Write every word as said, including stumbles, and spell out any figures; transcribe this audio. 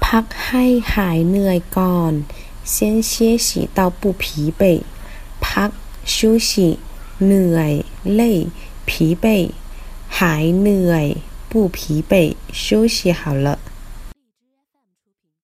พักให้หายเหนื่อยก่อน先歇息到不疲惫พัก休息เหนื่อย累疲惫หายเหนื่อย不疲惫休息好了